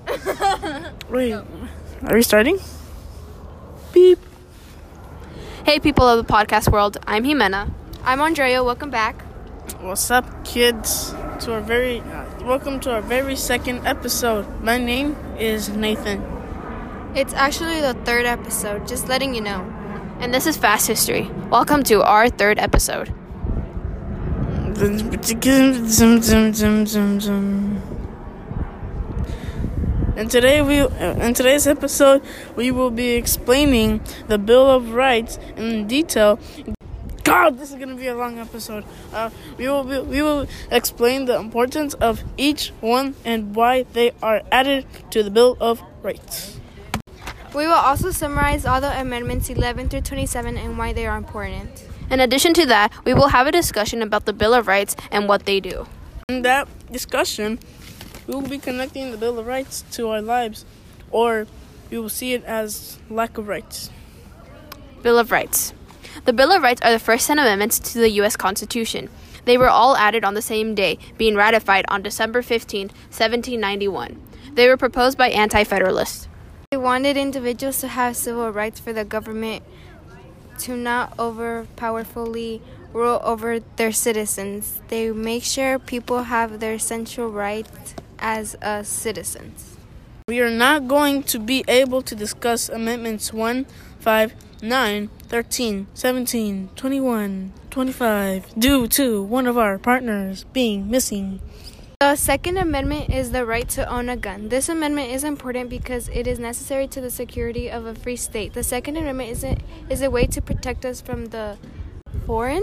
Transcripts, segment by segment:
Wait, are we starting? Beep. Hey, people of the podcast world. I'm Jimena. I'm Andrea. Welcome back. What's up, kids? Welcome to our very second episode. My name is Nathan. It's actually the third episode, just letting you know. And this is Fast History. Welcome to our third episode. In today's episode, we will be explaining the Bill of Rights in detail. God, this is gonna be a long episode. We will explain the importance of each one and why they are added to the Bill of Rights. We will also summarize all the amendments 11 through 27 and why they are important. In addition to that, we will have a discussion about the Bill of Rights and what they do. In that discussion, we will be connecting the Bill of Rights to our lives, or we will see it as lack of rights. Bill of Rights. The Bill of Rights are the first 10 amendments to the U.S. Constitution. They were all added on the same day, being ratified on December 15, 1791. They were proposed by anti-federalists. They wanted individuals to have civil rights for the government to not overpowerfully rule over their citizens. They make sure people have their essential rights as citizens. We are not going to be able to discuss Amendments 1, 5, 9, 13, 17, 21, 25 due to one of our partners being missing. The Second Amendment is the right to own a gun. This amendment is important because it is necessary to the security of a free state. The Second Amendment is a way to protect us from the foreign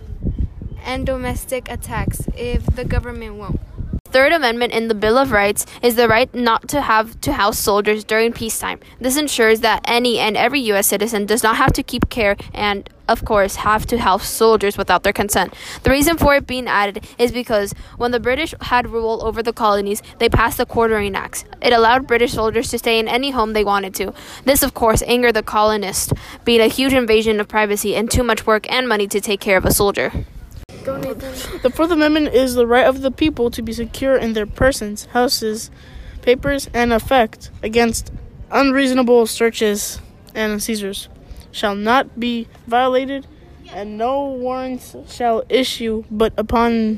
and domestic attacks if the government won't. Third Amendment in the Bill of Rights is the right not to have to house soldiers during peacetime. This ensures that any and every U.S. citizen does not have to keep care and, of course, have to house soldiers without their consent. The reason for it being added is because when the British had rule over the colonies, they passed the Quartering Acts. It allowed British soldiers to stay in any home they wanted to. This, of course, angered the colonists, being a huge invasion of privacy and too much work and money to take care of a soldier. Go, Nathan. The Fourth Amendment is the right of the people to be secure in their persons, houses, papers, and effect against unreasonable searches and seizures shall not be violated, and no warrants shall issue but upon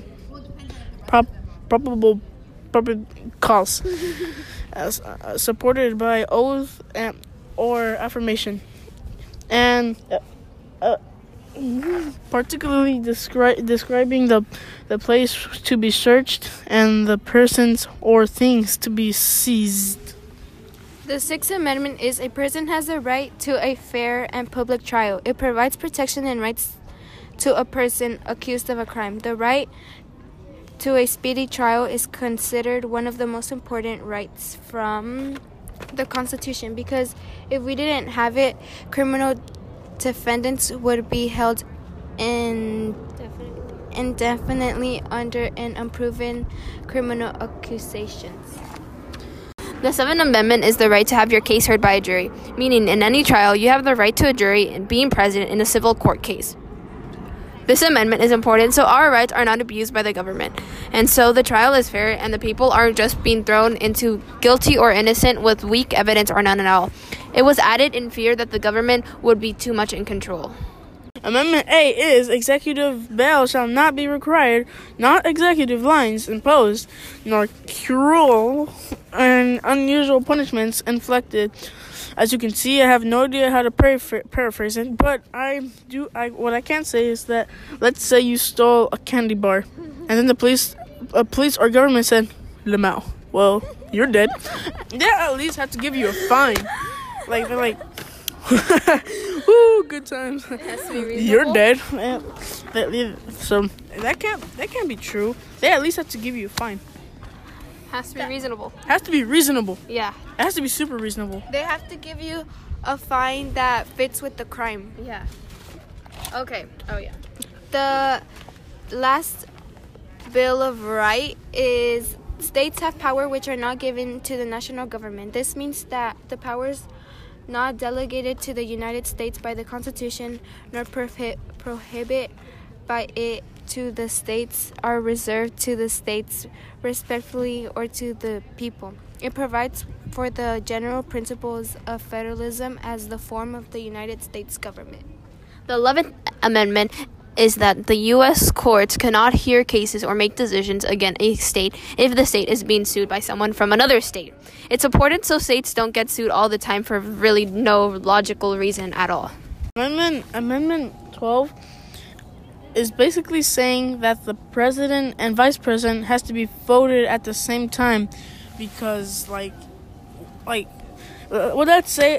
probable cause, as supported by oath or affirmation, and particularly describing the place to be searched and the persons or things to be seized. The Sixth Amendment is a person has the right to a fair and public trial. It provides protection and rights to a person accused of a crime. The right to a speedy trial is considered one of the most important rights from the Constitution because if we didn't have it, criminal defendants would be held indefinitely under an unproven criminal accusations. The Seventh Amendment is the right to have your case heard by a jury, meaning in any trial you have the right to a jury and being present in a civil court case. This amendment is important so our rights are not abused by the government, and so the trial is fair and the people aren't just being thrown into guilty or innocent with weak evidence or none at all. It was added in fear that the government would be too much in control. Amendment A is executive bail shall not be required, not executive lines imposed, nor cruel and unusual punishments inflicted. As you can see, I have no idea how to paraphrase it, but what I can say is that let's say you stole a candy bar, and then the police or government said, "Lamau, well, you're dead." They at least have to give you a fine. Like they're like, "Woo, good times." You're dead. So that can't be true. They at least have to give you a fine. Has to be reasonable. Has to be reasonable. Yeah. It has to be super reasonable. They have to give you a fine that fits with the crime. Yeah. Okay. Oh, yeah. The last Bill of Rights is states have power which are not given to the national government. This means that the powers not delegated to the United States by the Constitution nor prohibit by it to the states are reserved to the states respectively or to the people. It provides for the general principles of federalism as the form of the United States government. The 11th Amendment is that the U.S. courts cannot hear cases or make decisions against a state if the state is being sued by someone from another state. It's important so states don't get sued all the time for really no logical reason at all. Amendment 12 is basically saying that the president and vice president has to be voted at the same time because, what I'd say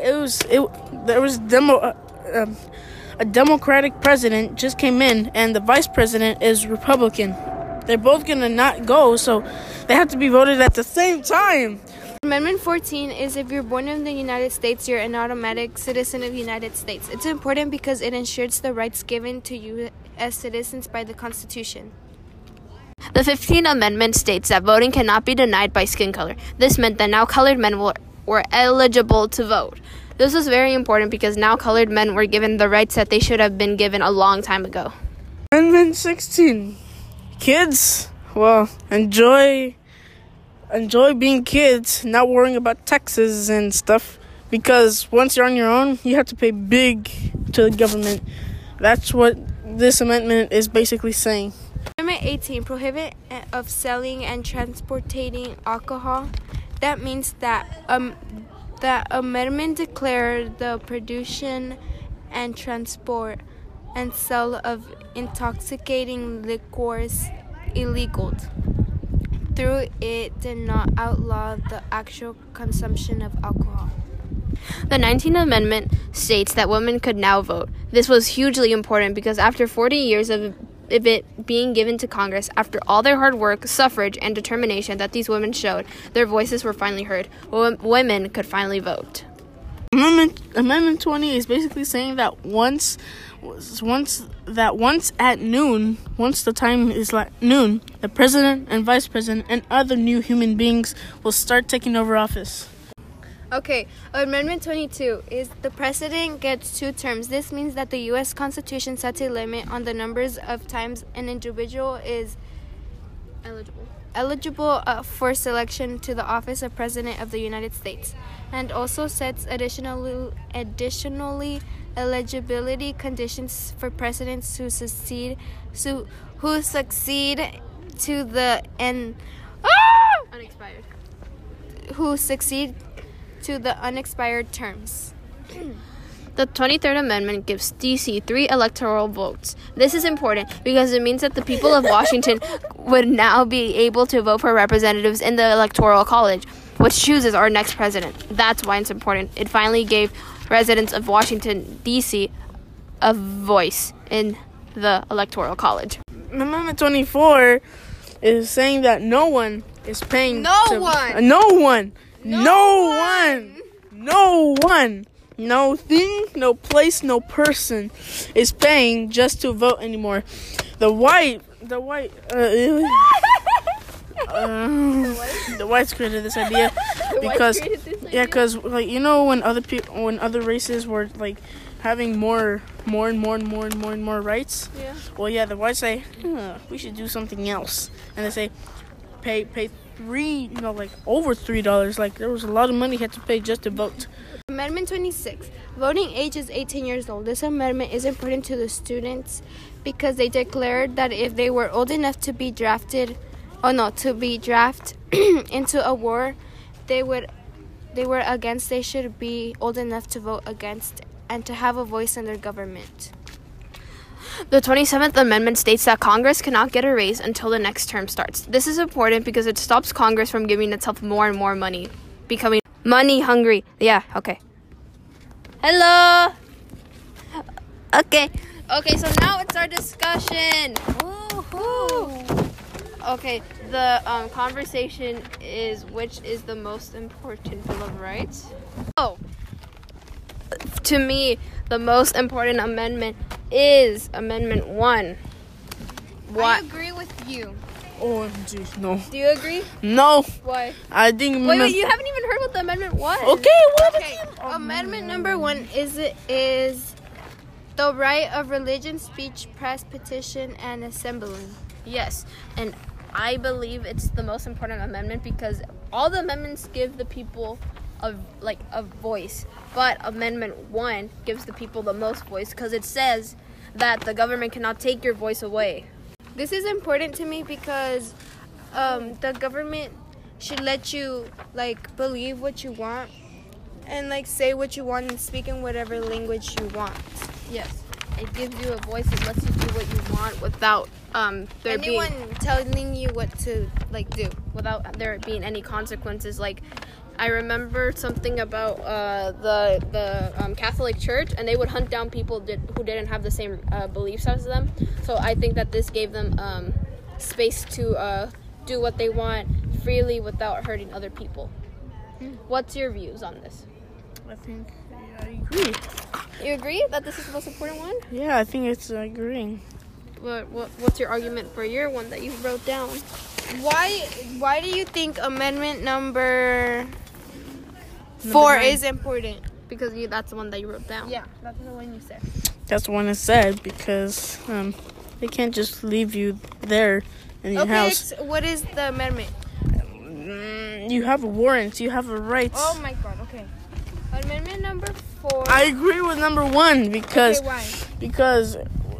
a Democratic president just came in and the vice president is Republican. They're both gonna not go, so they have to be voted at the same time. Amendment 14 is if you're born in the United States, you're an automatic citizen of the United States. It's important because it ensures the rights given to you as citizens by the Constitution. The 15th Amendment states that voting cannot be denied by skin color. This meant that now colored men were eligible to vote. This was very important because now colored men were given the rights that they should have been given a long time ago. Amendment 16. Kids, well, enjoy being kids, not worrying about taxes and stuff, because once you're on your own, you have to pay big to the government. That's what this amendment is basically saying. Amendment 18, prohibit of selling and transporting alcohol. That means that that amendment declared the production and transport and sale of intoxicating liquors illegal. Through it did not outlaw the actual consumption of alcohol. The 19th Amendment states that women could now vote. This was hugely important because after 40 years of it being given to Congress, after all their hard work, suffrage, and determination that these women showed, their voices were finally heard. Women could finally vote. Amendment 20 is basically saying that once at noon, once the time is like noon, the president and vice president and other new human beings will start taking over office. Okay, Amendment 22 is the president gets 2 terms. This means that the U.S. Constitution sets a limit on the numbers of times an individual is eligible for selection to the office of President of the United States, and also sets additionally eligibility conditions for presidents who succeed to the unexpired terms. The 23rd Amendment gives D.C. 3 electoral votes. This is important because it means that the people of Washington would now be able to vote for representatives in the Electoral College, which chooses our next president. That's why it's important. It finally gave residents of Washington, D.C. a voice in the Electoral College. Amendment 24 is saying that no one is paying... No one, no thing, no place, no person is paying just to vote anymore. The whites created this idea because when other races were like having more rights. Yeah. Well, yeah, the whites say we should do something else, and they say pay over $3. Like there was a lot of money you had to pay just to vote. Amendment 26. Voting age is 18 years old. This amendment is important to the students because they declared that if they were old enough to be drafted into a war they should be old enough to vote against and to have a voice in their government. The 27th Amendment states that Congress cannot get a raise until the next term starts. This is important because it stops Congress from giving itself more and more money, becoming money hungry. Yeah, okay. Hello. Okay, so now it's our discussion. Woo-hoo. Okay, the conversation is which is the most important Bill of Rights? Oh, to me, the most important amendment is Amendment 1. What? I agree with you. OMG, no. Do you agree? No. Why? I think... Wait, you haven't even heard what the amendment was. Okay, what? Okay, amendment number 1 is The right of religion, speech, press, petition, and assembly. Yes, and I believe it's the most important amendment because all the amendments give the people a voice, but Amendment 1 gives the people the most voice because it says that the government cannot take your voice away. This is important to me because the government should let you believe what you want and say what you want and speak in whatever language you want. Yes, it gives you a voice and lets you do what you want without anyone telling you what to do, without there being any consequences. I remember something about the Catholic Church, and they would hunt down people who didn't have the same beliefs as them. So I think that this gave them space to do what they want freely without hurting other people. What's your views on this? I think I agree. You agree that this is the most important one? Yeah, I think it's agreeing. What's your argument for your one that you wrote down? Why do you think amendment number 4 is important? Because that's the one that you wrote down. Yeah, that's the one you said. That's the one it said because they can't just leave you there in your house. What is the amendment? You have a warrant. You have a right. Oh my God. Okay. Amendment number 4. I agree with number 1 because why? Because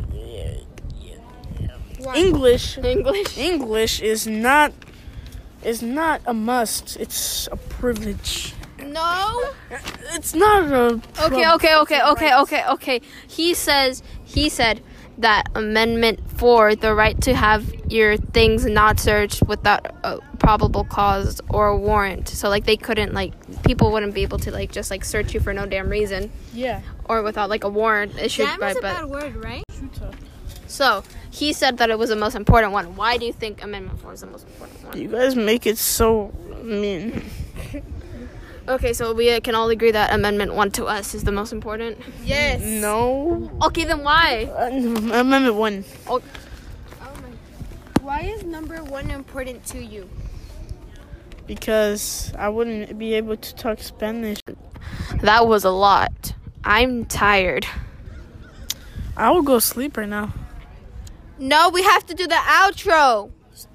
Why? English is not a must. It's a privilege. No. It's not a Okay. He said that Amendment 4, the right to have your things not searched without a probable cause or a warrant. So they couldn't people wouldn't be able to just search you for no damn reason. Yeah. Or without a warrant issued Damn by is a bad word, right? So he said that it was the most important one. Why do you think Amendment 4 is the most important one? You guys make it so mean. Okay, so we can all agree that Amendment 1 to us is the most important? Yes. No. Okay, then why? Amendment 1. Oh my. Why is number 1 important to you? Because I wouldn't be able to talk Spanish. That was a lot. I'm tired. I will go sleep right now. No, we have to do the outro.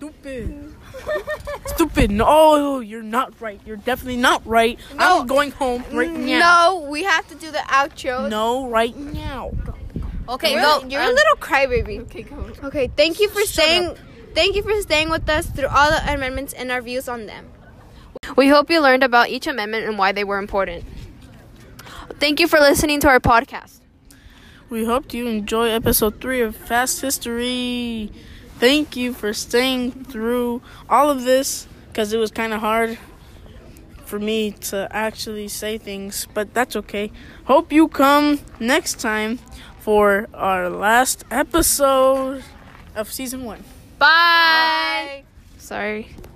Stupid. No, you're not right. You're definitely not right. No. I'm going home right now. No, we have to do the outro. No, right now. Okay, Really? go. You're a little crybaby. Okay, go. Okay, thank you for Shut staying. up. Thank you for staying with us through all the amendments and our views on them. We hope you learned about each amendment and why they were important. Thank you for listening to our podcast. We hope you enjoy episode 3 of Fast History. Thank you for staying through all of this because it was kind of hard for me to actually say things, but that's okay. Hope you come next time for our last episode of season 1. Bye. Sorry.